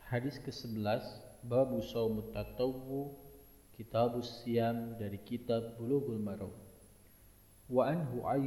Hadis ke-11, Babu Shaumut Tatawwu, Kitabus Siyam, dari kitab Bulughul Maram. Wa anhu